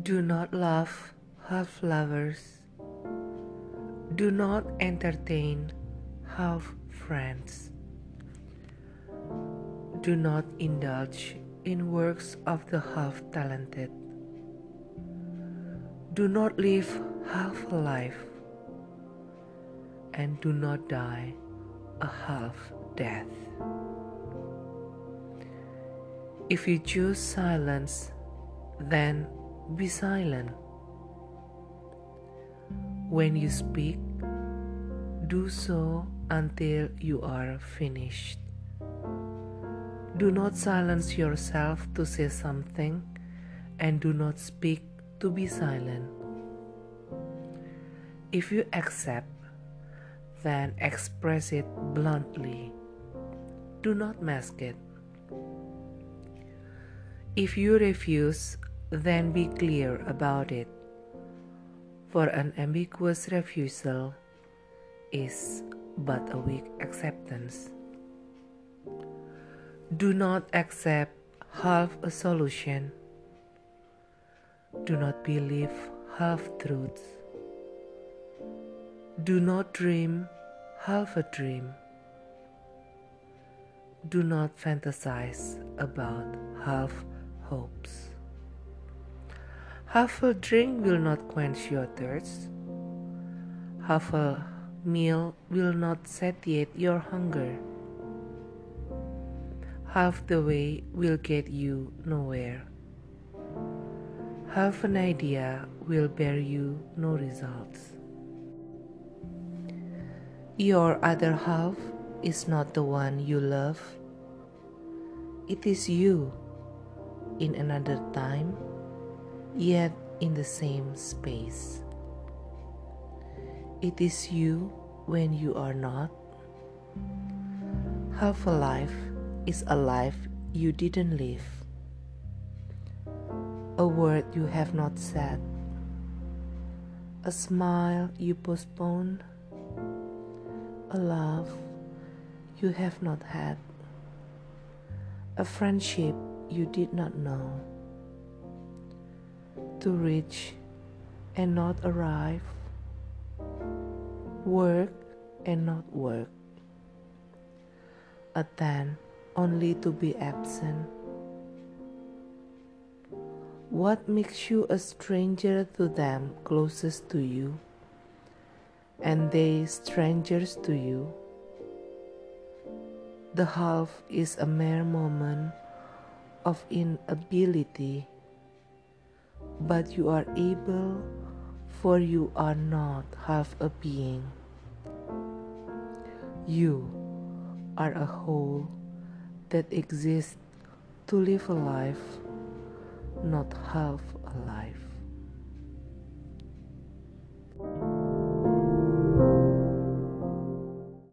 Do not love half lovers. Do not entertain half friends. Do not indulge in works of the half talented. Do not live half a life, and do not die a half death. If you choose silence, then be silent. When you speak, do so until you are finished. Do not silence yourself to say something, and do not speak to be silent. If you accept, then express it bluntly. Do not mask it. If you refuse, then be clear about it, for an ambiguous refusal is but a weak acceptance. Do not accept half a solution. Do not believe half-truths. Do not dream half a dream. Do not fantasize about half hopes. Half a drink will not quench your thirst. Half a meal will not satiate your hunger. Half the way will get you nowhere. Half an idea will bear you no results. Your other half is not the one you love. It is you in another time, yet in the same space. It is you when you are not. Half a life is a life you didn't live. A word you have not said. A smile you postponed. A love you have not had. A friendship you did not know. To reach and not arrive. Work and not work. Attend only to be absent. What makes you a stranger to them closest to you, and they strangers to you? The half is a mere moment of inability, but you are able, for you are not half a being. You are a whole that exists to live a life, not half a life.